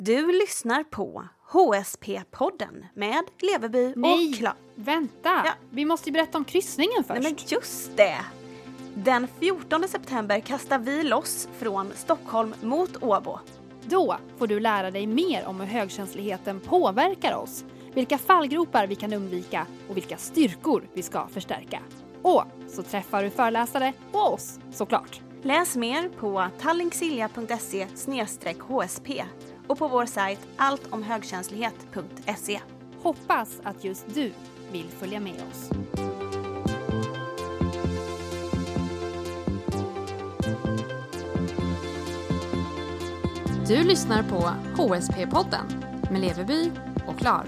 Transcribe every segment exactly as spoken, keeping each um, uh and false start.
Du lyssnar på H S P-podden med Leverby Nej, och Klar. vänta. Ja. Vi måste ju berätta om kryssningen först. Nej, men just det! Den fjortonde september kastar vi loss från Stockholm mot Åbo. Då får du lära dig mer om hur högkänsligheten påverkar oss, vilka fallgropar vi kan undvika och vilka styrkor vi ska förstärka. Och så träffar du föreläsare och oss, såklart. Läs mer på tallinksilja punkt se slash h s p och på vår sajt alltomhögkänslighet punkt se. Hoppas att just du vill följa med oss. Du lyssnar på H S P-podden med Leverby och Klar.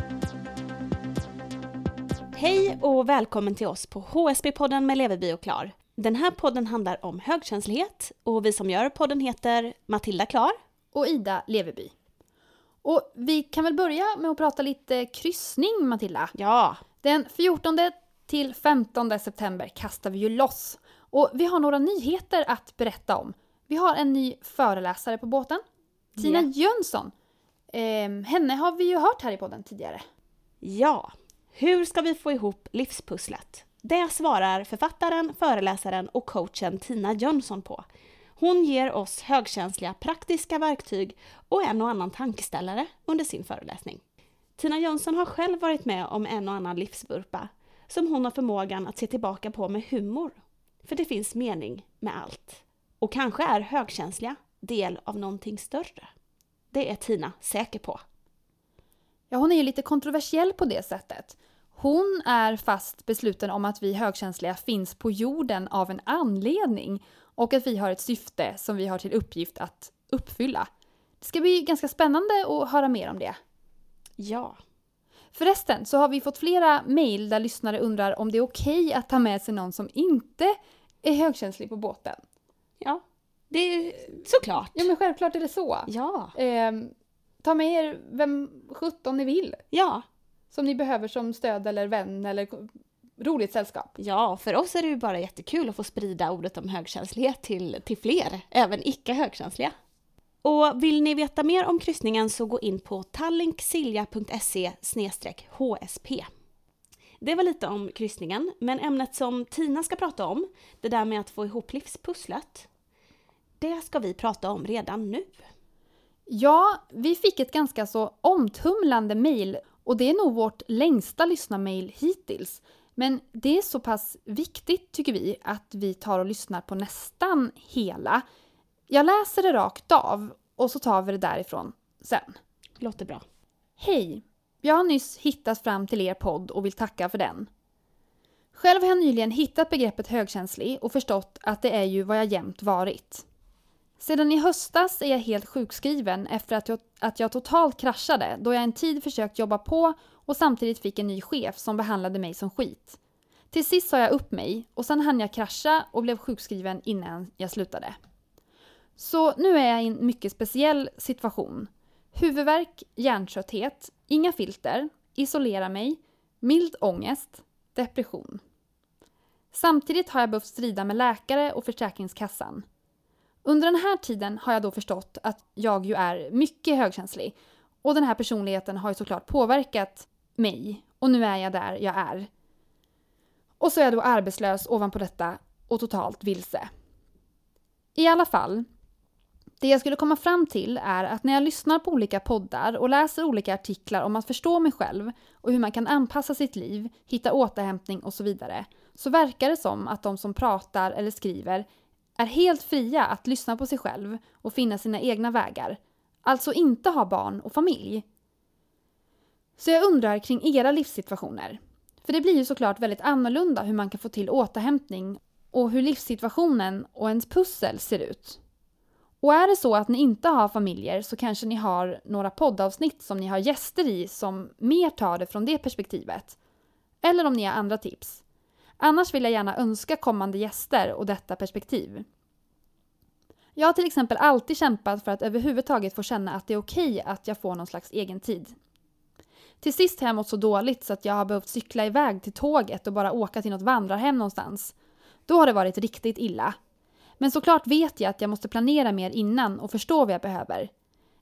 Hej och välkommen till oss på H S P-podden med Leverby och Klar. Den här podden handlar om högkänslighet och vi som gör podden heter Matilda Klar Och Ida Leverby. Och vi kan väl börja med att prata lite kryssning, Matilda. Ja. Den fjortonde till femtonde september kastar vi ju loss. Och vi har några nyheter att berätta om. Vi har en ny föreläsare på båten. Tina Yeah. Jönsson. Eh, henne har vi ju hört här i podden tidigare. Ja. Hur ska vi få ihop livspusslet? Det svarar författaren, föreläsaren och coachen Tina Jönsson på. Hon ger oss högkänsliga praktiska verktyg och en och annan tankeställare under sin föreläsning. Tina Jönsson har själv varit med om en och annan livsvurpa som hon har förmågan att se tillbaka på med humor. För det finns mening med allt. Och kanske är högkänsliga del av någonting större. Det är Tina säker på. Ja, hon är ju lite kontroversiell på det sättet. Hon är fast besluten om att vi högkänsliga finns på jorden av en anledning och att vi har ett syfte som vi har till uppgift att uppfylla. Det ska bli ganska spännande att höra mer om det. Ja. Förresten så har vi fått flera mejl där lyssnare undrar om det är okej att ta med sig någon som inte är högkänslig på båten. Ja, det är såklart. Ja, men självklart är det så. Ja. Eh, ta med er vem sjutton ni vill. Ja. Som ni behöver som stöd eller vän eller roligt sällskap. Ja, för oss är det ju bara jättekul att få sprida ordet om högkänslighet till, till fler, även icke-högkänsliga. Och vill ni veta mer om kryssningen så gå in på tallinksilja punkt se slash h s p. Det var lite om kryssningen, men ämnet som Tina ska prata om, det där med att få ihop livspusslet, det ska vi prata om redan nu. Ja, vi fick ett ganska så omtumlande mejl och det är nog vårt längsta lyssnarmail hittills. Men det är så pass viktigt tycker vi att vi tar och lyssnar på nästan hela. Jag läser det rakt av och så tar vi det därifrån sen. Låter bra. Hej, jag har nyss hittat fram till er podd och vill tacka för den. Själv har jag nyligen hittat begreppet högkänslig och förstått att det är ju vad jag jämt varit. Sedan i höstas är jag helt sjukskriven efter att jag, att jag totalt kraschade då jag en tid försökt jobba på och samtidigt fick en ny chef som behandlade mig som skit. Till sist sa jag upp mig och sen hann jag krascha och blev sjukskriven innan jag slutade. Så nu är jag i en mycket speciell situation. Huvudvärk, hjärntrötthet, inga filter, isolera mig, mild ångest, depression. Samtidigt har jag behövt strida med läkare och Försäkringskassan. Under den här tiden har jag då förstått att jag ju är mycket högkänslig. Och den här personligheten har ju såklart påverkat mig. Och nu är jag där jag är. Och så är jag då arbetslös ovanpå detta och totalt vilse. I alla fall, det jag skulle komma fram till är att när jag lyssnar på olika poddar och läser olika artiklar om att förstå mig själv och hur man kan anpassa sitt liv, hitta återhämtning och så vidare, så verkar det som att de som pratar eller skriver är helt fria att lyssna på sig själv och finna sina egna vägar. Alltså inte ha barn och familj. Så jag undrar kring era livssituationer. För det blir ju såklart väldigt annorlunda hur man kan få till återhämtning och hur livssituationen och ens pussel ser ut. Och är det så att ni inte har familjer så kanske ni har några poddavsnitt som ni har gäster i som mer tar det från det perspektivet. Eller om ni har andra tips. Annars vill jag gärna önska kommande gäster och detta perspektiv. Jag har till exempel alltid kämpat för att överhuvudtaget få känna att det är okej att jag får någon slags egen tid. Till sist har jag mått så dåligt så att jag har behövt cykla iväg till tåget och bara åka till något vandrarhem någonstans. Då har det varit riktigt illa. Men såklart vet jag att jag måste planera mer innan och förstå vad jag behöver.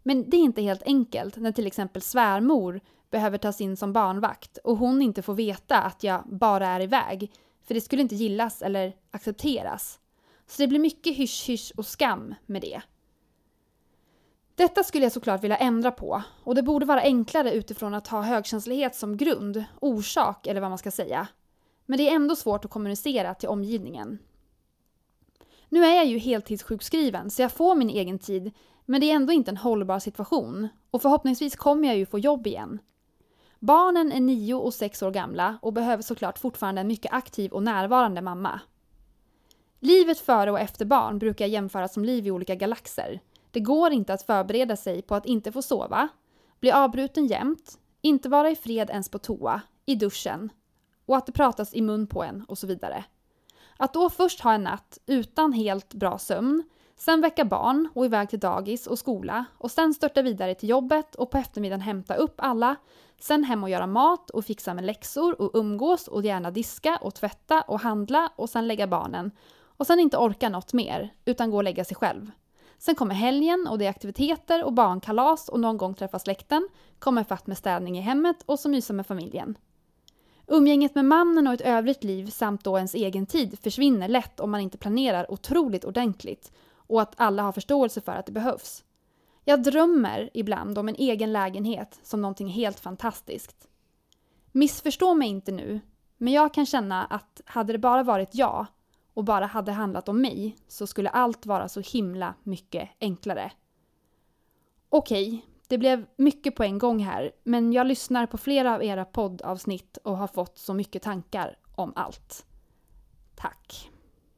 Men det är inte helt enkelt när till exempel svärmor behöver tas in som barnvakt och hon inte får veta att jag bara är iväg, för det skulle inte gillas eller accepteras. Så det blir mycket hysch-hysch och skam med det. Detta skulle jag såklart vilja ändra på, och det borde vara enklare utifrån att ha högkänslighet som grund, orsak eller vad man ska säga. Men det är ändå svårt att kommunicera till omgivningen. Nu är jag ju heltidssjukskriven så jag får min egen tid, men det är ändå inte en hållbar situation och förhoppningsvis kommer jag ju få jobb igen. Barnen är nio och sex år gamla och behöver såklart fortfarande en mycket aktiv och närvarande mamma. Livet före och efter barn brukar jämföras som liv i olika galaxer. Det går inte att förbereda sig på att inte få sova, bli avbruten jämt, inte vara i fred ens på toa, i duschen och att det pratas i mun på en och så vidare. Att då först ha en natt utan helt bra sömn, sen väcka barn och iväg till dagis och skola och sen störta vidare till jobbet och på eftermiddagen hämta upp alla, sen hem och göra mat och fixa med läxor och umgås och gärna diska och tvätta och handla och sen lägga barnen och sen inte orka något mer utan gå och lägga sig själv. Sen kommer helgen och det är aktiviteter och barnkalas och någon gång träffa släkten, kommer fatt med städning i hemmet och så mysa med familjen. Umgänget med mannen och ett övrigt liv samt då ens egen tid försvinner lätt om man inte planerar otroligt ordentligt och att alla har förståelse för att det behövs. Jag drömmer ibland om en egen lägenhet som någonting helt fantastiskt. Missförstå mig inte nu, men jag kan känna att hade det bara varit jag och bara hade handlat om mig så skulle allt vara så himla mycket enklare. Okej, det blev mycket på en gång här, men jag lyssnar på flera av era poddavsnitt och har fått så mycket tankar om allt. Tack.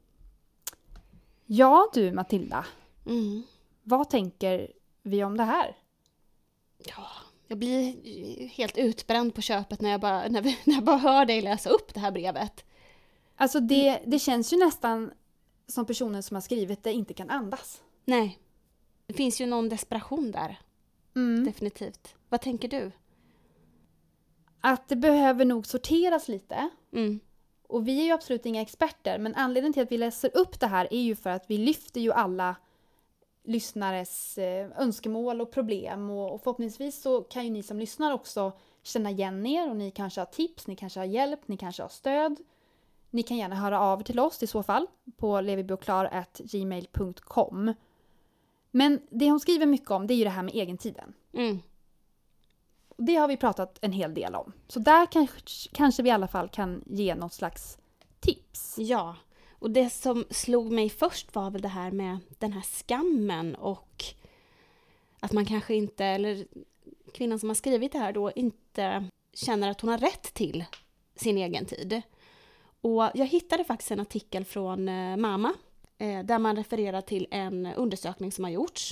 Ja du Matilda, Mm. vad tänker vi om det här? Ja, jag blir helt utbränd på köpet när jag bara, när vi, när jag bara hör dig läsa upp det här brevet. Alltså det, det känns ju nästan som personen som har skrivit det inte kan andas. Nej, det finns ju någon desperation där. Mm. Definitivt. Vad tänker du? Att det behöver nog sorteras lite. Mm. Och vi är ju absolut inga experter, men anledningen till att vi läser upp det här är ju för att vi lyfter ju alla lyssnares eh, önskemål och problem. Och, och förhoppningsvis så kan ju ni som lyssnar också känna igen er och ni kanske har tips, ni kanske har hjälp, ni kanske har stöd. Ni kan gärna höra av er till oss i så fall på levibioklar at gmail punkt com. Men det hon skriver mycket om det är ju det här med egentiden. Mm. Och det har vi pratat en hel del om. Så där kanske, kanske vi i alla fall kan ge något slags tips. Ja, och det som slog mig först var väl det här med den här skammen och att man kanske inte, eller kvinnan som har skrivit det här då, inte känner att hon har rätt till sin egen tid. Och jag hittade faktiskt en artikel från eh, Mamma eh, där man refererar till en undersökning som har gjorts.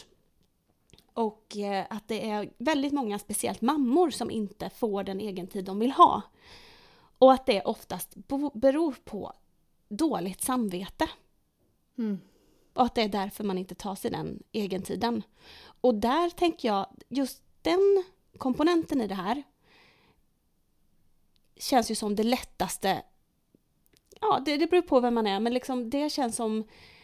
Och eh, att det är väldigt många, speciellt mammor, som inte får den egen tid de vill ha. Och att det oftast bo- beror på dåligt samvete. Mm. Och att det är därför man inte tar sig den egen tiden. Och där tänker jag, just den komponenten i det här känns ju som det lättaste. Ja, det, det beror på vem man är, men liksom det känns som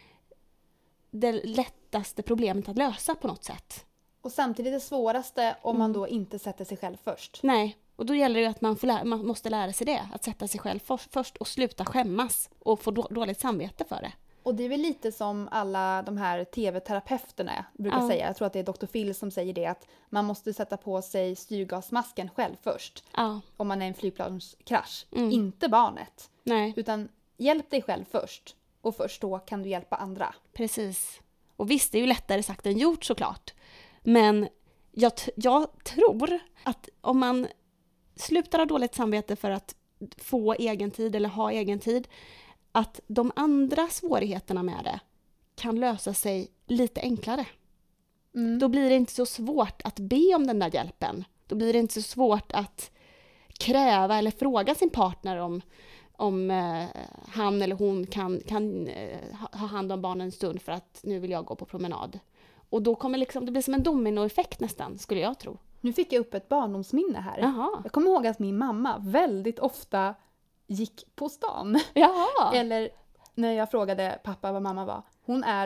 det lättaste problemet att lösa på något sätt. Och samtidigt det svåraste om Mm. man då inte sätter sig själv först. Nej, och då gäller det ju att man, får lära, man måste lära sig det. Att sätta sig själv för, först och sluta skämmas och få då, dåligt samvete för det. Och det är väl lite som alla de här tv-terapeuterna brukar Ja. säga. Jag tror att det är doktor Phil som säger det. Att man måste sätta på sig styrgasmasken själv först. Ja, Om man är i en flygplanskrasch. Mm. Inte barnet. nej, Utan hjälp dig själv först. Och först då kan du hjälpa andra. precis. Och visst, det är ju lättare sagt än gjort såklart. Men jag, t- jag tror att om man slutar ha dåligt samvete för att få egen tid eller ha egen tid, att de andra svårigheterna med det kan lösa sig lite enklare. Mm. Då blir det inte så svårt att be om den där hjälpen. Då blir det inte så svårt att kräva eller fråga sin partner om, om eh, han eller hon kan, kan eh, ha hand om barnen en stund för att nu vill jag gå på promenad. Och då kommer liksom, det blir som en dominoeffekt nästan, skulle jag tro. Nu fick jag upp ett barndomsminne här. Jaha. Jag kommer ihåg att min mamma väldigt ofta gick på stan. Jaha. Eller när jag frågade pappa vad mamma var. Hon är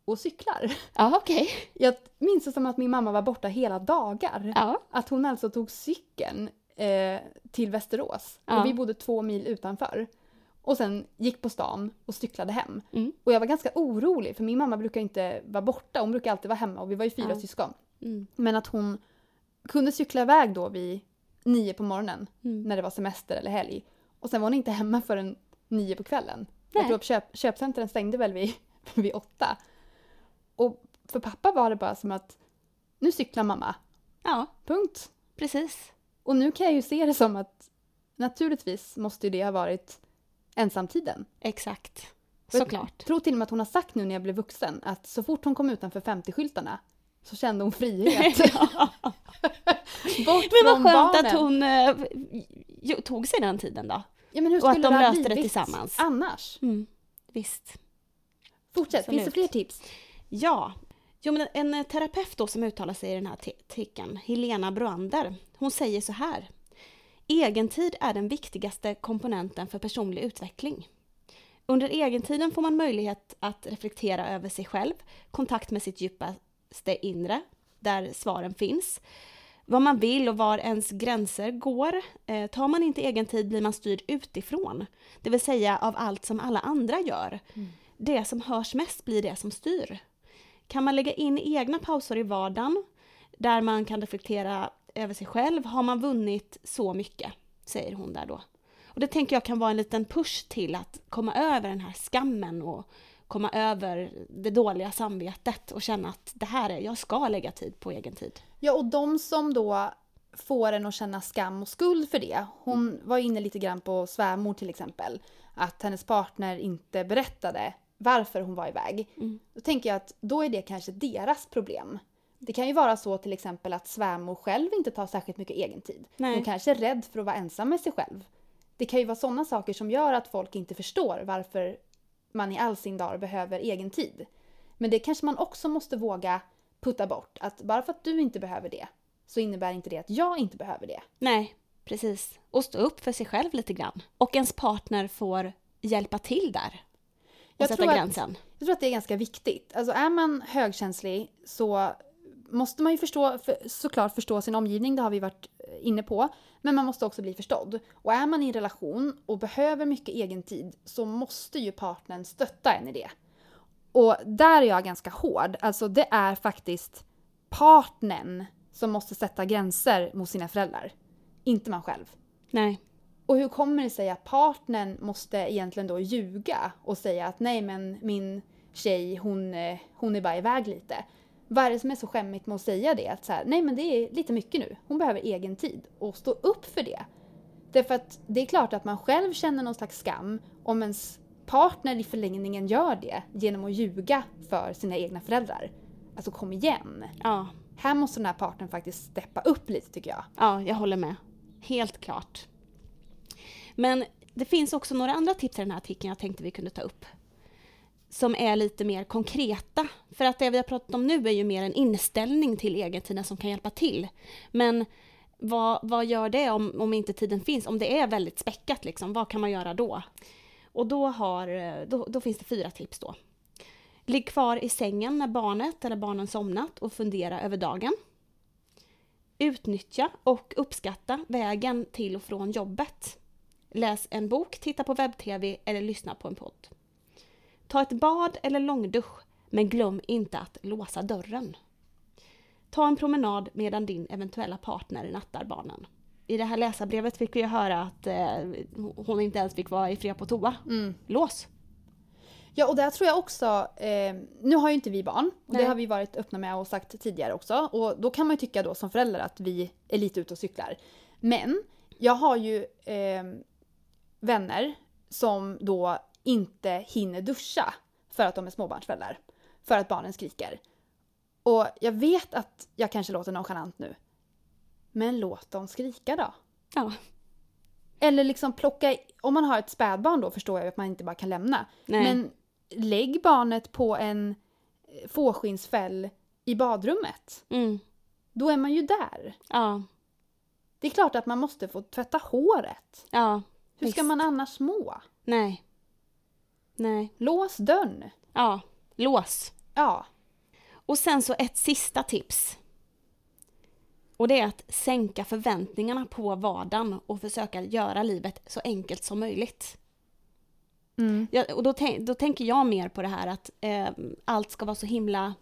och cyklar. Ja, okej. Jag minns det som att min mamma var borta hela dagar. Ja. Att hon alltså tog cykeln eh, till Västerås. Ja. Och vi bodde två mil utanför. Och sen gick på stan och cyklade hem. Mm. Och jag var ganska orolig för min mamma brukar inte vara borta. Hon brukar alltid vara hemma och vi var ju fyra Ja. syskon. Mm. Men att hon kunde cykla iväg då vid nio på morgonen. Mm. När det var semester eller helg. Och sen var hon inte hemma förrän nio på kvällen. Nej. Jag tror att köp, köpcentren stängde väl vid, vid åtta. Och för pappa var det bara som att nu cyklar mamma. Ja, Punkt. precis. Och nu kan jag ju se det som att naturligtvis måste ju det ha varit ensamtiden. Exakt. Jag Såklart. tror till och med att hon har sagt nu när jag blev vuxen att så fort hon kom utanför femtio-skyltarna så kände hon frihet. Bort Men vad från skönt barnen. att hon eh, ju- tog sig den tiden då. Ja, men hur och att skulle de det ha löste det blivit tillsammans. annars? Mm. Visst. Fortsätt, Absolut. finns det fler tips? Ja. Jo, men en terapeut då som uttalar sig i den här artikeln, Helena Broander, hon säger så här. Egentid är den viktigaste komponenten för personlig utveckling. Under egentiden får man möjlighet att reflektera över sig själv, kontakt med sitt djupaste inre, där svaren finns. Vad man vill och var ens gränser går. Eh, tar man inte egentid blir man styrd utifrån. Det vill säga av allt som alla andra gör. Mm. Det som hörs mest blir det som styr. Kan man lägga in egna pauser i vardagen där man kan reflektera över sig själv har man vunnit så mycket, säger hon där då. Och det tänker jag kan vara en liten push till att komma över den här skammen och komma över det dåliga samvetet och känna att det här är, jag ska lägga tid på egen tid. Ja, och de som då får en att känna skam och skuld för det. Hon var inne lite grann på svärmor till exempel. Att hennes partner inte berättade varför hon var iväg. Mm. Då tänker jag att då är det kanske deras problem. Det kan ju vara så till exempel att svärmor själv inte tar särskilt mycket egen tid. Nej. Hon kanske är rädd för att vara ensam med sig själv. Det kan ju vara sådana saker som gör att folk inte förstår varför man i all sin dag behöver egen tid. Men det kanske man också måste våga putta bort. Att bara för att du inte behöver det så innebär inte det att jag inte behöver det. Nej, precis. Och stå upp för sig själv lite grann. Och ens partner får hjälpa till där. Och Jag sätta tror att- gränsen. Jag tror att det är ganska viktigt. Alltså är man högkänslig så måste man ju förstå, för, såklart förstå sin omgivning, det har vi varit inne på. Men man måste också bli förstådd. Och är man i en relation och behöver mycket egen tid så måste ju partnern stötta en i det. Och där är jag ganska hård. Alltså det är faktiskt partnern som måste sätta gränser mot sina föräldrar. Inte man själv. Nej. Och hur kommer det sig att partnern måste egentligen då ljuga och säga att nej men min tjej hon, eh, hon är bara iväg lite. Vad är det som är så skämmigt med att säga det? Att så här, nej men det är lite mycket nu. Hon behöver egen tid och stå upp för det. Därför att det är klart att man själv känner någon slags skam om ens partner i förlängningen gör det genom att ljuga för sina egna föräldrar. Alltså kom igen. Ja. Här måste den här partnern faktiskt steppa upp lite tycker jag. Ja, jag håller med. Helt klart. Men det finns också några andra tips i den här artikeln jag tänkte vi kunde ta upp. Som är lite mer konkreta. För att det vi har pratat om nu är ju mer en inställning till egentiden som kan hjälpa till. Men vad, vad gör det om, om inte tiden finns? Om det är väldigt späckat, liksom, vad kan man göra då? Och då, har, då, då finns det fyra tips då. Ligg kvar i sängen när barnet eller barnen somnat och fundera över dagen. Utnyttja och uppskatta vägen till och från jobbet. Läs en bok, titta på webb-tv eller lyssna på en podd. Ta ett bad eller långdusch, men glöm inte att låsa dörren. Ta en promenad medan din eventuella partner nattar barnen. I det här läsarbrevet fick vi höra att eh, hon inte ens fick vara i fred på toa. Mm. Lås! Ja, och där tror jag också, eh, nu har ju inte vi barn, och Nej. det har vi varit öppna med och sagt tidigare också. Och då kan man ju tycka då som förälder att vi är lite ute och cyklar. Men jag har ju eh, vänner som då inte hinner duscha för att de är småbarnsföräldrar. För att barnen skriker. Och jag vet att jag kanske låter nonchalant nu. Men låt dem skrika då. Ja. Eller liksom plocka, om man har ett spädbarn då förstår jag att man inte bara kan lämna. Nej. Men lägg barnet på en fårskinnsfäll i badrummet. Mm. Då är man ju där. Ja. Det är klart att man måste få tvätta håret. Ja. Hur ska Visst. man annars må? Nej. Nej. Lås dörren. Ja. Lås. Ja. Och sen så ett sista tips. Och det är att sänka förväntningarna på vardagen och försöka göra livet så enkelt som möjligt. Mm. Ja, och då, tänk, då tänker jag mer på det här att eh, allt ska vara så himla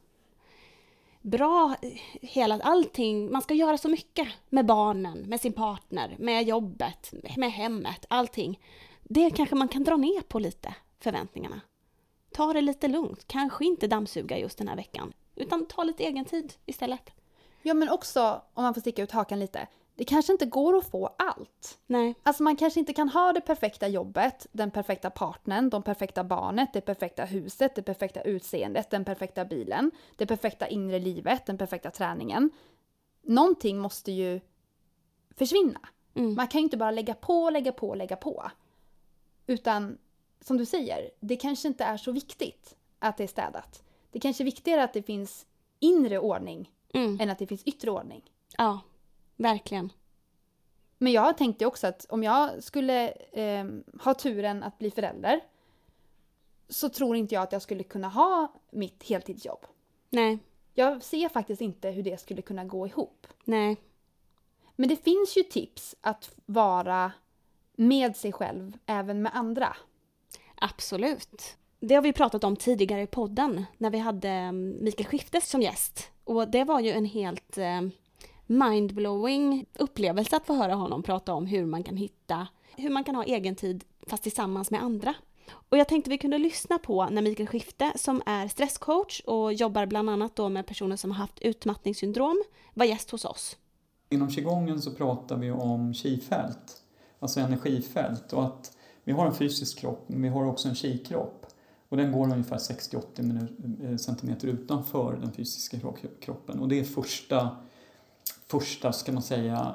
bra. Hela, allting, man ska göra så mycket med barnen, med sin partner, med jobbet, med hemmet, allting. Det kanske man kan dra ner på lite, förväntningarna. Ta det lite lugnt, kanske inte dammsuga just den här veckan, utan ta lite egen tid istället. Ja, men också, om man får sticka ut hakan lite, det kanske inte går att få allt. Nej. Alltså man kanske inte kan ha det perfekta jobbet, den perfekta partnern, de perfekta barnet, det perfekta huset, det perfekta utseendet, den perfekta bilen, det perfekta inre livet, den perfekta träningen. Någonting måste ju försvinna. Mm. Man kan ju inte bara lägga på, lägga på, lägga på. Utan, som du säger, det kanske inte är så viktigt att det är städat. Det kanske är viktigare att det finns inre ordning Mm. än att det finns yttre ordning. Ja, verkligen. Men jag tänkte också att om jag skulle eh, ha turen att bli förälder så tror inte jag att jag skulle kunna ha mitt heltidsjobb. Nej, Jag ser faktiskt inte hur det skulle kunna gå ihop. nej. Men det finns ju tips att vara med sig själv även med andra. Absolut. Det har vi pratat om tidigare i podden när vi hade Mikael Skiftes som gäst. Och det var ju en helt eh, mindblowing upplevelse att få höra honom prata om hur man kan hitta, hur man kan ha egen tid fast tillsammans med andra. Och jag tänkte vi kunde lyssna på när Mikael Skifte, som är stresscoach och jobbar bland annat då med personer som har haft utmattningssyndrom, var gäst hos oss. Inom qigongen så pratar vi om qi-fält, alltså energifält, och att vi har en fysisk kropp men vi har också en qi-kropp. Och den går ungefär sextio till åttio centimeter utanför den fysiska kroppen. Och det är första, första ska man säga,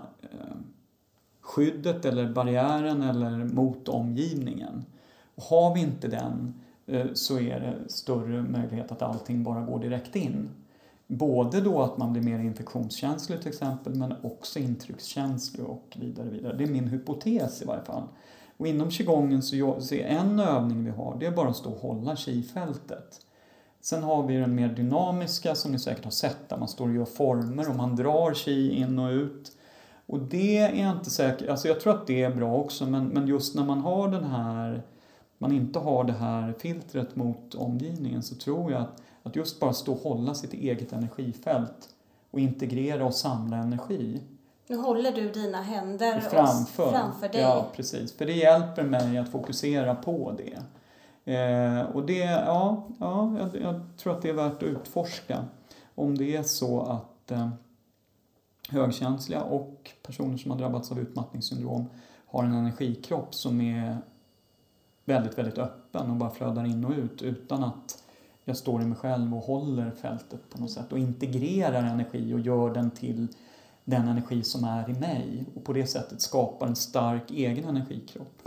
skyddet eller barriären eller mot omgivningen. Och har vi inte den så är det större möjlighet att allting bara går direkt in. Både då att man blir mer infektionskänslig till exempel, men också intryckskänslig och vidare vidare. Det är min hypotes i varje fall. Och inom qigongen så, så är en övning vi har, det är bara att stå och hålla qi-fältet. Sen har vi den mer dynamiska som ni säkert har sett, där man står och gör former och man drar qi in och ut. Och det är inte säkert, alltså jag tror att det är bra också, men, men just när man har den här, man inte har det här filtret mot omgivningen, så tror jag att, att just bara stå och hålla sitt eget energifält och integrera och samla energi. Nu håller du dina händer framför, framför dig. Ja, precis. För det hjälper mig att fokusera på det. Eh, och det, ja, ja jag, jag tror att det är värt att utforska. Om det är så att eh, högkänsliga och personer som har drabbats av utmattningssyndrom har en energikropp som är väldigt, väldigt öppen och bara flödar in och ut utan att jag står i mig själv och håller fältet på något sätt och integrerar energi och gör den till den energi som är i mig och på det sättet skapar en stark egen energikropp.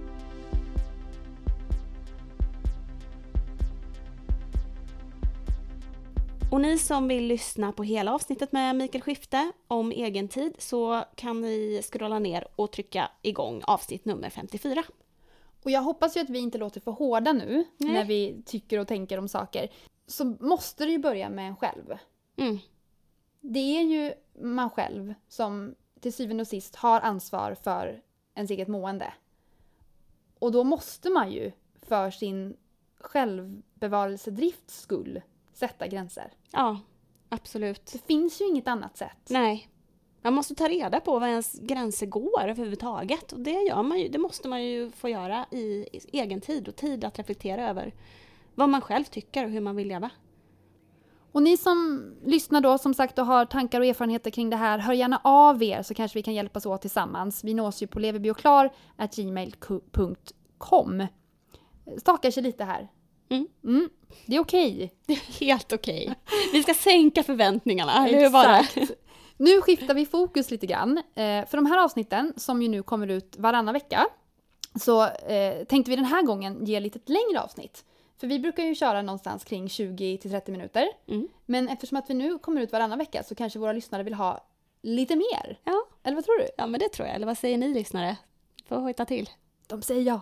Och ni som vill lyssna på hela avsnittet med Mikael Skifte om egen tid, så kan ni scrolla ner och trycka igång avsnitt nummer femtiofyra. Och jag hoppas ju att vi inte låter för hårda nu. Nej. När vi tycker och tänker om saker. Så måste det ju börja med en själv. Mm. Det är ju man själv som till syvende och sist har ansvar för ens eget mående. Och då måste man ju för sin självbevarelsedrifts skull sätta gränser. Ja, absolut. Det finns ju inget annat sätt. Nej. Man måste ta reda på var ens gränser går överhuvudtaget. Och det, gör man ju, det måste man ju få göra i, i egen tid och tid att reflektera över vad man själv tycker och hur man vill leva. Och ni som lyssnar då, som sagt, och har tankar och erfarenheter kring det här, hör gärna av er så kanske vi kan hjälpas åt tillsammans. Vi nås ju på leverbioklar at gmail punkt com. Stakar sig lite här. Mm. Mm, det är okej. Det är helt okej. Vi ska sänka förväntningarna, eller hur var det? Exakt. Nu skiftar vi fokus lite grann. Eh, för de här avsnitten, som ju nu kommer ut varannan vecka, så eh, tänkte vi den här gången ge lite ett längre avsnitt. För vi brukar ju köra någonstans kring tjugo till trettio minuter. Mm. Men eftersom att vi nu kommer ut varannan vecka så kanske våra lyssnare vill ha lite mer. Ja. Eller vad tror du? Ja, men det tror jag. Eller vad säger ni lyssnare? Får hojta till. De säger ja.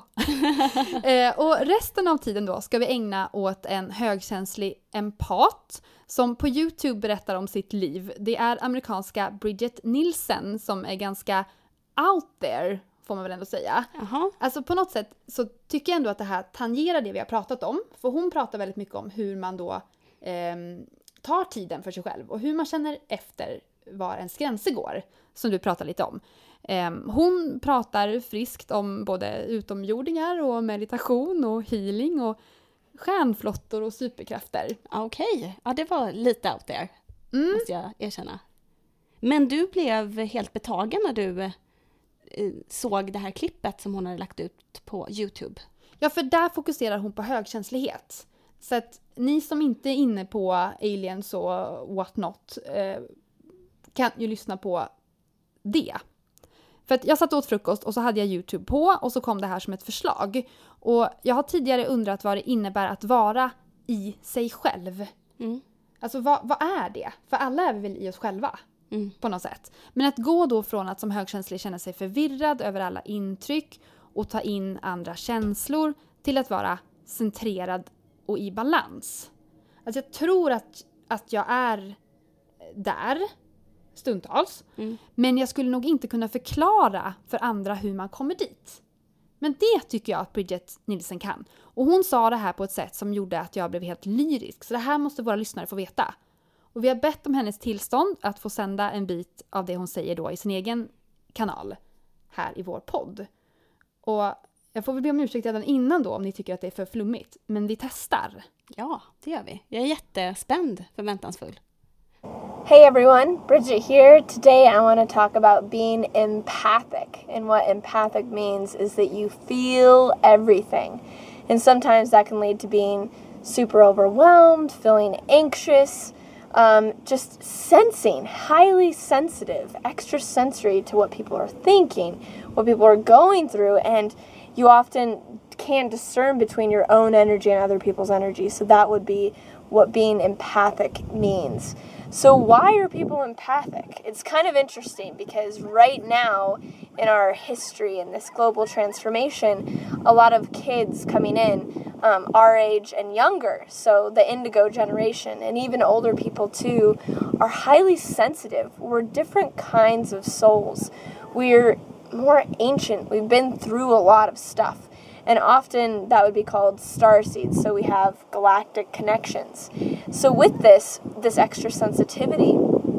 eh, och resten av tiden då ska vi ägna åt en högkänslig empat som på YouTube berättar om sitt liv. Det är amerikanska Bridget Nielsen som är ganska out there, får man väl ändå säga. Aha. Alltså på något sätt så tycker jag ändå att det här tangerar det vi har pratat om. För hon pratar väldigt mycket om hur man då eh, tar tiden för sig själv och hur man känner efter var ens gränser går, som du pratar lite om. Eh, hon pratar friskt om både utomjordingar och meditation och healing och stjärnflottor och superkrafter. Okej, okay. Ja det var lite out there, Mm. måste jag erkänna. Men du blev helt betagen när du eh, såg det här klippet som hon hade lagt ut på YouTube. Ja, för där fokuserar hon på högkänslighet. Så att ni som inte är inne på aliens och what not eh, kan ju lyssna på det. För att jag satt åt frukost och så hade jag YouTube på och så kom det här som ett förslag. Och jag har tidigare undrat vad det innebär att vara i sig själv. Mm. Alltså vad, vad är det? För alla är vi väl i oss själva Mm. på något sätt. Men att gå då från att som högkänslig känna sig förvirrad över alla intryck och ta in andra känslor till att vara centrerad och i balans. Alltså jag tror att, att jag är där stundtals. Mm. Men jag skulle nog inte kunna förklara för andra hur man kommer dit. Men det tycker jag att Bridget Nielsen kan. Och hon sa det här på ett sätt som gjorde att jag blev helt lyrisk. Så det här måste våra lyssnare få veta. Och vi har bett om hennes tillstånd att få sända en bit av det hon säger då i sin egen kanal här i vår podd. Och jag får väl be om ursäkt redan innan då om ni tycker att det är för flummigt. Men vi testar. Ja, det gör vi. Jag är jättespänd, förväntansfull. Hey everyone, Bridget here. Today I want to talk about being empathic. And what empathic means is that you feel everything. And sometimes that can lead to being super overwhelmed, feeling anxious, um, just sensing, highly sensitive, extra sensory to what people are thinking, what people are going through. And you often can't discern between your own energy and other people's energy. So that would be what being empathic means. So why are people empathic? It's kind of interesting because right now in our history in this global transformation, a lot of kids coming in, um, our age and younger, so the indigo generation and even older people too, are highly sensitive. We're different kinds of souls. We're more ancient. We've been through a lot of stuff. And often that would be called starseeds, so we have galactic connections. So with this, this extra sensitivity,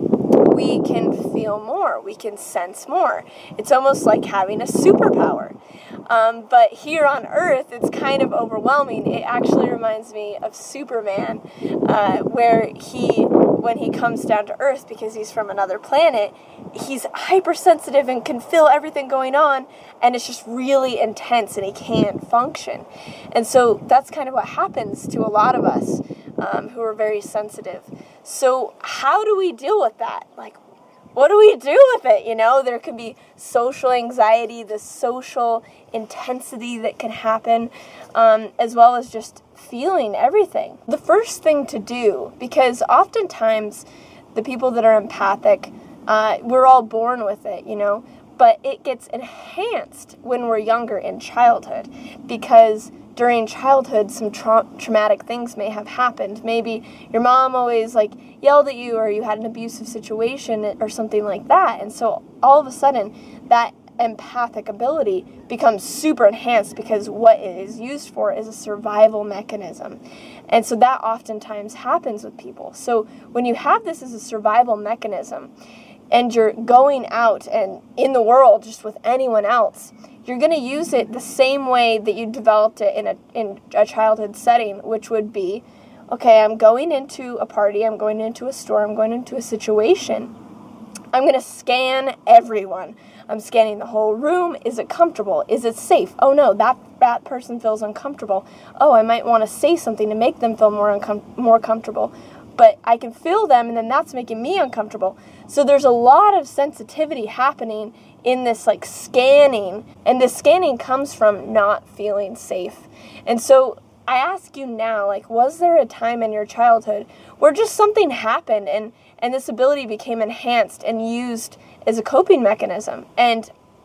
we can feel more, we can sense more. It's almost like having a superpower. Um, but here on Earth, it's kind of overwhelming. It actually reminds me of Superman, uh, where he, when he comes down to Earth, because he's from another planet, he's hypersensitive and can feel everything going on, and it's just really intense and he can't function. And so that's kind of what happens to a lot of us um, who are very sensitive. So how do we deal with that? Like, what do we do with it? You know, there can be social anxiety, the social intensity that can happen, um, as well as just feeling everything. The first thing to do, because oftentimes the people that are empathic, uh, we're all born with it, you know, but it gets enhanced when we're younger in childhood, because during childhood some tra- traumatic things may have happened. Maybe your mom always like yelled at you, or you had an abusive situation or something like that, and so all of a sudden that empathic ability becomes super enhanced because what it is used for is a survival mechanism. And so that oftentimes happens with people. So when you have this as a survival mechanism and you're going out and in the world just with anyone else, you're going to use it the same way that you developed it in a in a childhood setting, which would be, okay, I'm going into a party, I'm going into a store, I'm going into a situation. I'm going to scan everyone. I'm scanning the whole room. Is it comfortable? Is it safe? Oh no, that that person feels uncomfortable. Oh, I might want to say something to make them feel more uncom- more comfortable. But I can feel them, and then that's making me uncomfortable. So there's a lot of sensitivity happening in this like scanning, and this scanning comes from not feeling safe. And so I ask you now, like, was there a time in your childhood where just something happened and, and this ability became enhanced and used as a coping mechanism? And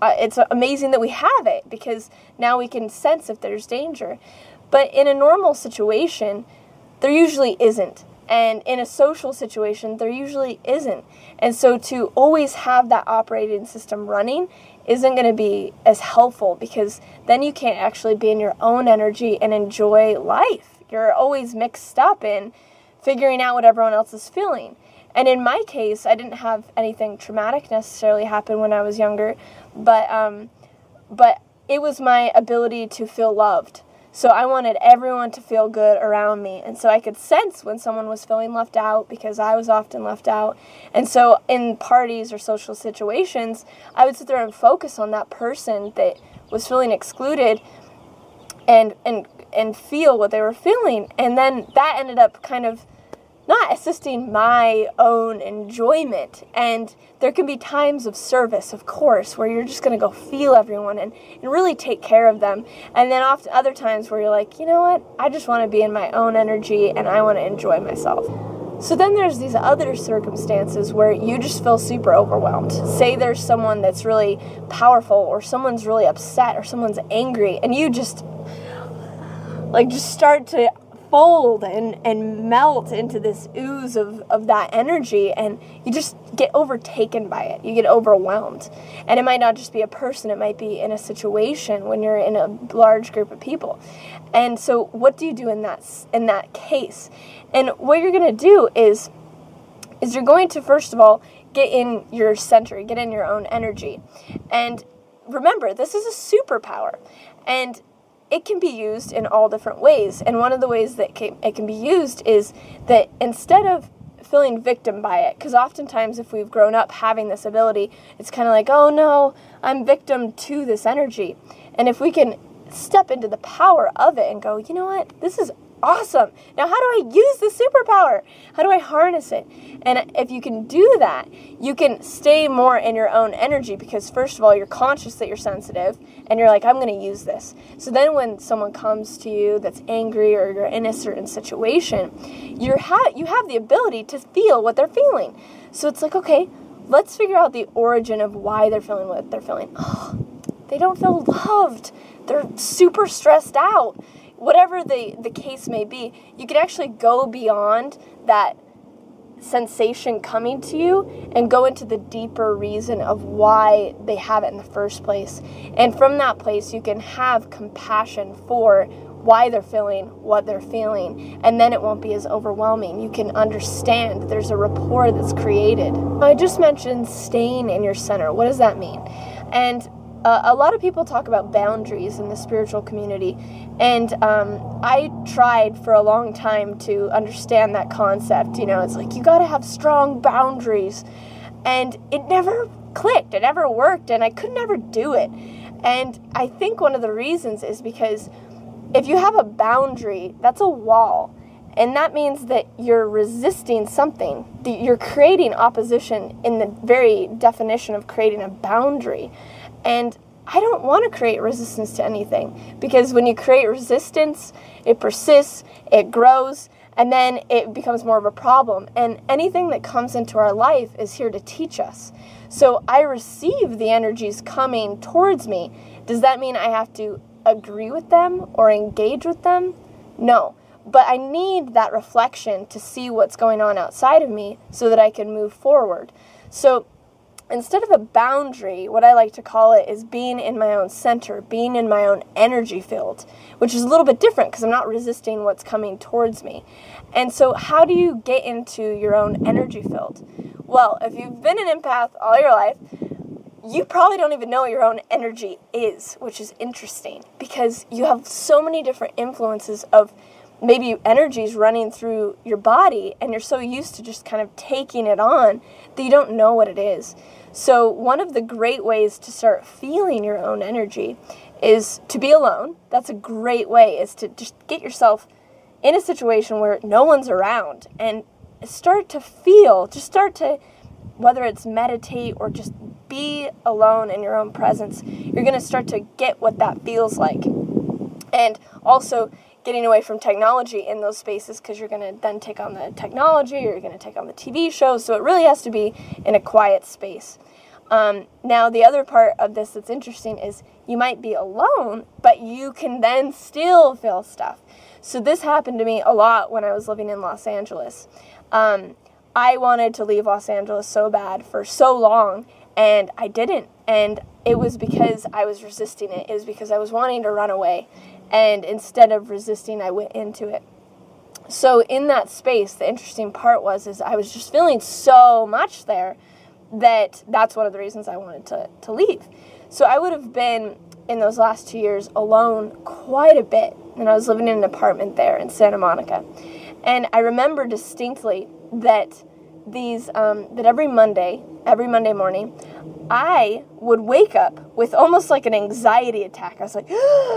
uh, it's amazing that we have it, because now we can sense if there's danger. But in a normal situation, there usually isn't. And in a social situation, there usually isn't. And so to always have that operating system running isn't going to be as helpful, because then you can't actually be in your own energy and enjoy life. You're always mixed up in figuring out what everyone else is feeling. And in my case, I didn't have anything traumatic necessarily happen when I was younger, but um, but it was my ability to feel loved. So I wanted everyone to feel good around me. And so I could sense when someone was feeling left out, because I was often left out. And so in parties or social situations, I would sit there and focus on that person that was feeling excluded and and and feel what they were feeling. And then that ended up kind of not assisting my own enjoyment. And there can be times of service, of course, where you're just going to go feel everyone and, and really take care of them. And then often other times where you're like, you know what, I just want to be in my own energy and I want to enjoy myself. So then there's these other circumstances where you just feel super overwhelmed. Say there's someone that's really powerful, or someone's really upset, or someone's angry, and you just like just start to fold and, and melt into this ooze of, of that energy, and you just get overtaken by it. You get overwhelmed. And it might not just be a person, it might be in a situation when you're in a large group of people. And so what do you do in that in that case? And what you're going to do is is you're going to, first of all, get in your center, get in your own energy. And remember, this is a superpower. And it can be used in all different ways. And one of the ways that it can be used is that instead of feeling victim by it, because oftentimes if we've grown up having this ability, it's kind of like, oh no, I'm victim to this energy. And if we can step into the power of it and go, you know what, this is awesome. Now, how do I use the superpower? How do I harness it? And if you can do that, you can stay more in your own energy, because first of all, you're conscious that you're sensitive and you're like, I'm going to use this. So then when someone comes to you that's angry, or you're in a certain situation, you're ha- you have the ability to feel what they're feeling. So it's like, okay, let's figure out the origin of why they're feeling what they're feeling. Oh, they don't feel loved. They're super stressed out. Whatever the, the case may be, you can actually go beyond that sensation coming to you and go into the deeper reason of why they have it in the first place. And from that place, you can have compassion for why they're feeling what they're feeling, and then it won't be as overwhelming. You can understand there's a rapport that's created. I just mentioned staying in your center. What does that mean? And Uh, a lot of people talk about boundaries in the spiritual community, and um, I tried for a long time to understand that concept. You know, it's like, you got to have strong boundaries, and it never clicked, it never worked, and I could never do it. And I think one of the reasons is because if you have a boundary, that's a wall, and that means that you're resisting something. You're creating opposition in the very definition of creating a boundary. And I don't want to create resistance to anything, because when you create resistance, it persists, it grows, and then it becomes more of a problem. And anything that comes into our life is here to teach us. So I receive the energies coming towards me. Does that mean I have to agree with them or engage with them? No. But I need that reflection to see what's going on outside of me so that I can move forward. So instead of a boundary, what I like to call it is being in my own center, being in my own energy field, which is a little bit different because I'm not resisting what's coming towards me. And so how do you get into your own energy field? Well, if you've been an empath all your life, you probably don't even know what your own energy is, which is interesting because you have so many different influences of maybe energies running through your body, and you're so used to just kind of taking it on that you don't know what it is. So one of the great ways to start feeling your own energy is to be alone. That's a great way, is to just get yourself in a situation where no one's around and start to feel, just start to, whether it's meditate or just be alone in your own presence, you're going to start to get what that feels like. And also getting away from technology in those spaces, because you're going to then take on the technology, or you're going to take on the T V shows, so it really has to be in a quiet space. Um, now, the other part of this that's interesting is you might be alone, but you can then still feel stuff. So this happened to me a lot when I was living in Los Angeles. Um, I wanted to leave Los Angeles so bad for so long, and I didn't. And it was because I was resisting it. It was because I was wanting to run away. And instead of resisting, I went into it. So in that space, the interesting part was is I was just feeling so much there that that's one of the reasons I wanted to, to leave. So I would have been, in those last two years, alone quite a bit. And I was living in an apartment there in Santa Monica. And I remember distinctly that these, um, that every Monday, every Monday morning, I would wake up with almost like an anxiety attack. I was like,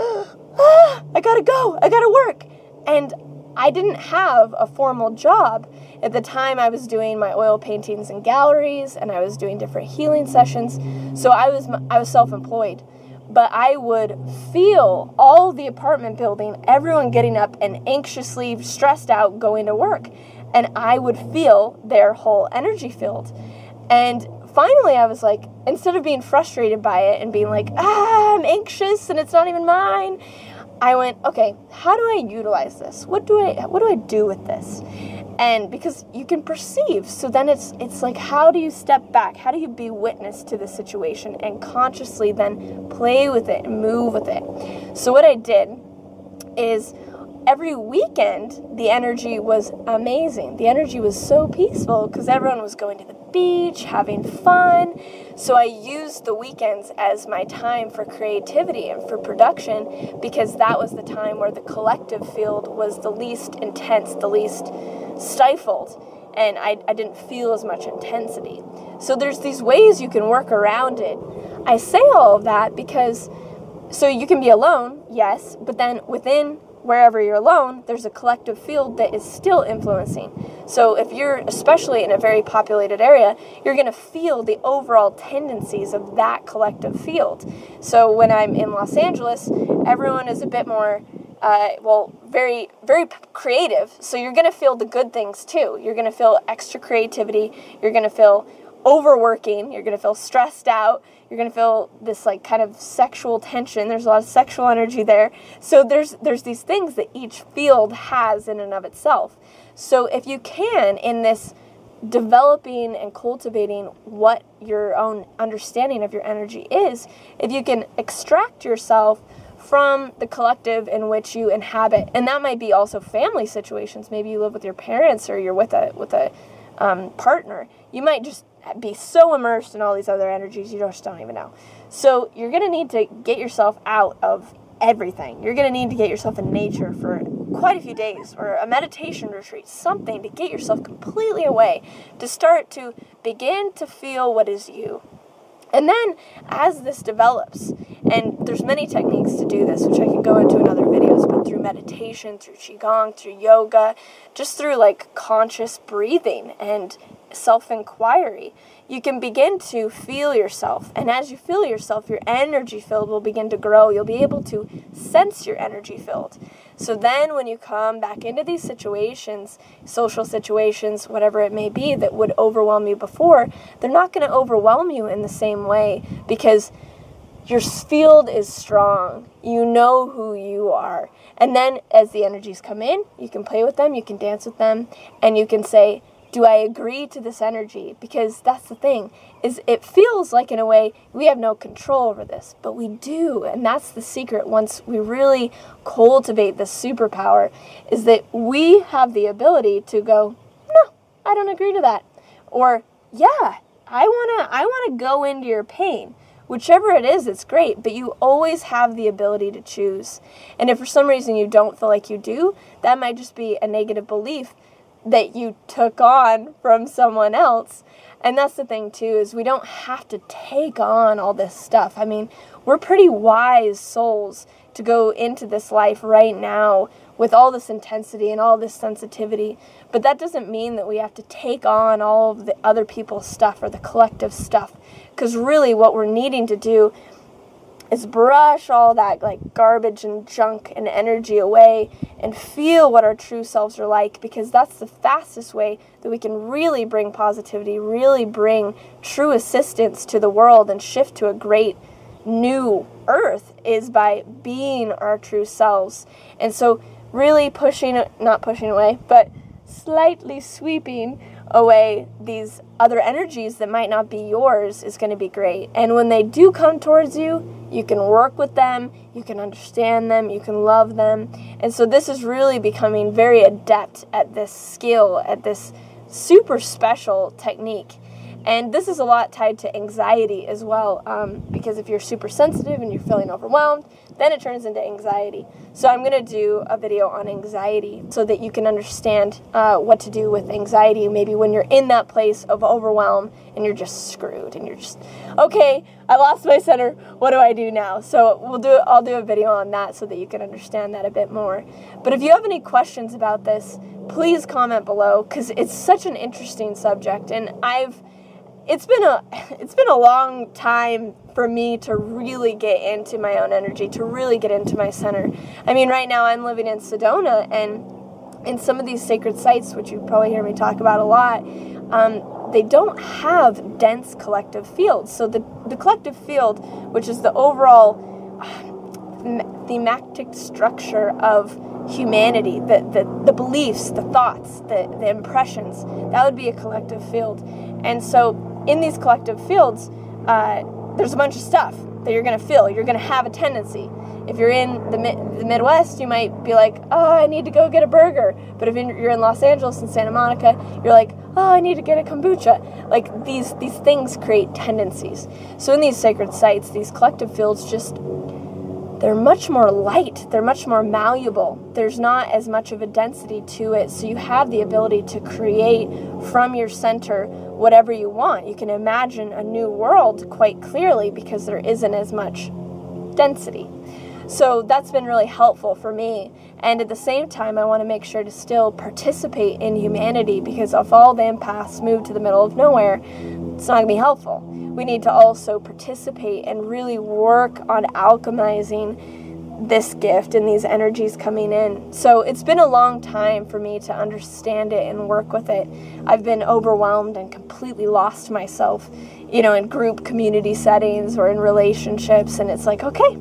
ah, I gotta go, I gotta work. And I didn't have a formal job. At the time, I was doing my oil paintings in galleries, and I was doing different healing sessions. So I was I was self-employed. But I would feel all the apartment building, everyone getting up and anxiously stressed out going to work. And I would feel their whole energy field. And finally, I was like, instead of being frustrated by it and being like, ah, I'm anxious and it's not even mine, I went, okay, how do I utilize this? What do I what do I do with this? And because you can perceive, so then it's it's like, how do you step back? How do you be witness to the situation and consciously then play with it and move with it? So what I did is every weekend, the energy was amazing. The energy was so peaceful because everyone was going to the beach, having fun. So I used the weekends as my time for creativity and for production because that was the time where the collective field was the least intense, the least stifled, and I, I didn't feel as much intensity. So there's these ways you can work around it. I say all of that because, so you can be alone, yes, but then within wherever you're alone, there's a collective field that is still influencing. So if you're especially in a very populated area, you're going to feel the overall tendencies of that collective field. So when I'm in Los Angeles, everyone is a bit more, uh, well, very, very creative. So you're going to feel the good things too. You're going to feel extra creativity. You're going to feel overworking. You're going to feel stressed out. You're going to feel this like kind of sexual tension. There's a lot of sexual energy there. So there's there's these things that each field has in and of itself. So if you can, in this developing and cultivating what your own understanding of your energy is, if you can extract yourself from the collective in which you inhabit, and that might be also family situations. Maybe you live with your parents or you're with a with a um, partner. You might just be so immersed in all these other energies you just don't even know. So you're going to need to get yourself out of everything. You're going to need to get yourself in nature for quite a few days, or a meditation retreat, something to get yourself completely away, to start to begin to feel what is you. And then as this develops, and there's many techniques to do this, which I can go into in other videos, but through meditation, through Qigong, through yoga, just through like conscious breathing and self-inquiry, you can begin to feel yourself. And as you feel yourself, your energy field will begin to grow. You'll be able to sense your energy field. So then when you come back into these situations, social situations, whatever it may be that would overwhelm you before, they're not going to overwhelm you in the same way because your field is strong. You know who you are. And then as the energies come in, you can play with them, you can dance with them, and you can say, do I agree to this energy? Because that's the thing, is it feels like in a way we have no control over this, but we do. And that's the secret once we really cultivate this superpower, is that we have the ability to go, no, I don't agree to that. Or, yeah, I want to I want to go into your pain. Whichever it is, it's great, but you always have the ability to choose. And if for some reason you don't feel like you do, that might just be a negative belief that you took on from someone else. And that's the thing too, is we don't have to take on all this stuff. I mean, we're pretty wise souls to go into this life right now with all this intensity and all this sensitivity. But that doesn't mean that we have to take on all of the other people's stuff or the collective stuff. Because really what we're needing to do is brush all that like garbage and junk and energy away and feel what our true selves are like, because that's the fastest way that we can really bring positivity, really bring true assistance to the world and shift to a great new earth, is by being our true selves. And so really pushing, not pushing away, but slightly sweeping away these other energies that might not be yours is going to be great. And when they do come towards you, you can work with them, you can understand them, you can love them. And so this is really becoming very adept at this skill, at this super special technique. And this is a lot tied to anxiety as well, um, because if you're super sensitive and you're feeling overwhelmed, then it turns into anxiety. So I'm going to do a video on anxiety so that you can understand uh, what to do with anxiety, maybe when you're in that place of overwhelm and you're just screwed and you're just, okay, I lost my center, what do I do now? So we'll do. I'll do a video on that so that you can understand that a bit more. But if you have any questions about this, please comment below, because it's such an interesting subject, and I've It's been a it's been a long time for me to really get into my own energy, to really get into my center. I mean, right now I'm living in Sedona, and in some of these sacred sites, which you probably hear me talk about a lot, um, they don't have dense collective fields. So the, the collective field, which is the overall thematic structure of humanity, the, the, the beliefs, the thoughts, the, the impressions, that would be a collective field. And so in these collective fields, uh, there's a bunch of stuff that you're going to feel. You're going to have a tendency. If you're in the, the Midwest, you might be like, oh, I need to go get a burger. But if you're in Los Angeles and Santa Monica, you're like, oh, I need to get a kombucha. Like, these, these things create tendencies. So in these sacred sites, these collective fields just, they're much more light. They're much more malleable. There's not as much of a density to it. So you have the ability to create from your center whatever you want. You can imagine a new world quite clearly because there isn't as much density. So that's been really helpful for me. And at the same time, I want to make sure to still participate in humanity, because if all the empaths move to the middle of nowhere, it's not going to be helpful. We need to also participate and really work on alchemizing this gift and these energies coming in. So it's been a long time for me to understand it and work with it. I've been overwhelmed and completely lost myself, you know, in group community settings or in relationships. And it's like, okay,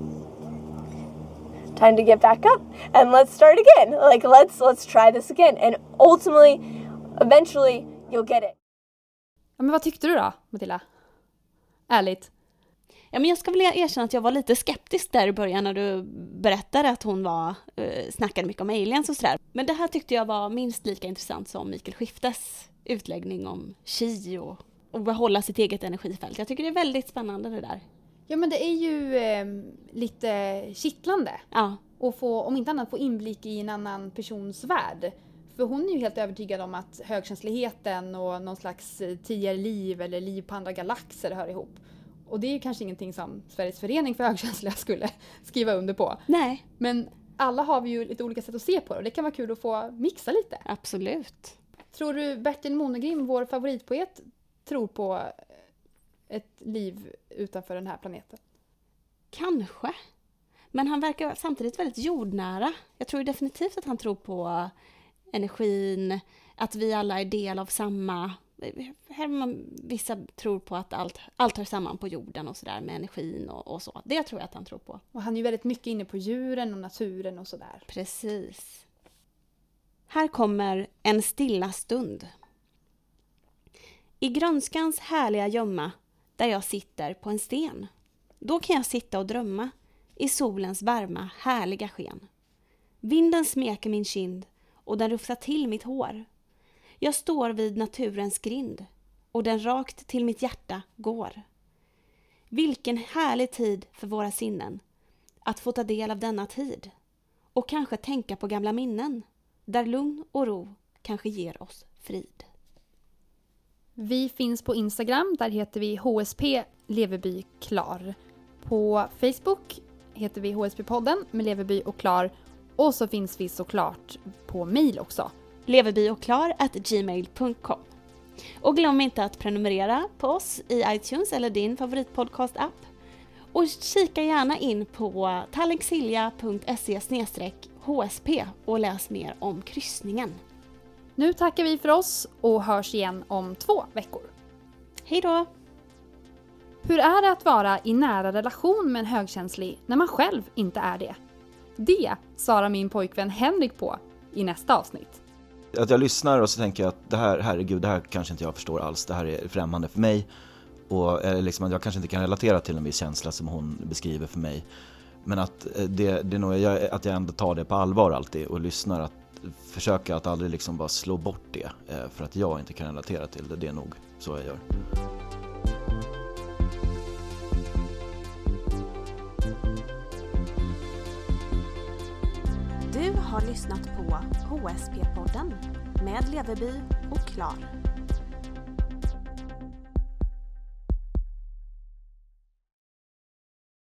time to get back up and let's start again. Like, let's let's try this again. And ultimately, eventually, you'll get it. Ja, men vad tyckte du då, Matilda? Ärligt. Ja, men jag ska väl erkänna att jag var lite skeptisk där i början när du berättade att hon var, eh, snackade mycket om aliens och sådär. Men det här tyckte jag var minst lika intressant som Mikael Skiftes utläggning om chi och, och behålla sitt eget energifält. Jag tycker det är väldigt spännande det där. Ja, men det är ju eh, lite kittlande. Ja. Och få, om inte annat, få inblick i en annan persons värld. För hon är ju helt övertygad om att högkänsligheten och någon slags tidigare liv eller liv på andra galaxer hör ihop. Och det är ju kanske ingenting som Sveriges förening för högkänsliga skulle skriva under på. Nej. Men alla har vi ju lite olika sätt att se på det. Och det kan vara kul att få mixa lite. Absolut. Tror du Bertil Monegrim, vår favoritpoet, tror på ett liv utanför den här planeten? Kanske. Men han verkar samtidigt väldigt jordnära. Jag tror definitivt att han tror på energin, att vi alla är del av samma. Här man, vissa tror på att allt, allt hör samman på jorden och sådär med energin och, och så. Det tror jag att han tror på. Och han är ju väldigt mycket inne på djuren och naturen och sådär. Precis. Här kommer en stilla stund. I grönskans härliga gömma, där jag sitter på en sten. Då kan jag sitta och drömma i solens varma, härliga sken. Vinden smeker min kind och den rufsar till mitt hår. Jag står vid naturens grind och den rakt till mitt hjärta går. Vilken härlig tid för våra sinnen att få ta del av denna tid och kanske tänka på gamla minnen där lugn och ro kanske ger oss frid. Vi finns på Instagram, där heter vi H S P Leverby Klar. På Facebook heter vi H S P-podden med Leverby och Klar. Och så finns vi såklart på mail också. leverbyochklar at gmail dot com. Och glöm inte att prenumerera på oss i iTunes eller din favoritpodcast-app. Och kika gärna in på tallrinksilja punkt se slash h s p och läs mer om kryssningen. Nu tackar vi för oss och hörs igen om två veckor. Hej då! Hur är det att vara i nära relation med en högkänslig när man själv inte är det? Det svarar min pojkvän Henrik på i nästa avsnitt. Att jag lyssnar och så tänker jag att det här, herregud, det här kanske inte jag förstår alls. Det här är främmande för mig. Och liksom att jag kanske inte kan relatera till en viss känsla som hon beskriver för mig. Men att, det, det är nog, jag, att jag ändå tar det på allvar alltid och lyssnar. Att försöka att aldrig liksom bara slå bort det för att jag inte kan relatera till det. Det är nog så jag gör. Du har lyssnat på H S P-podden med Leveby och Klar.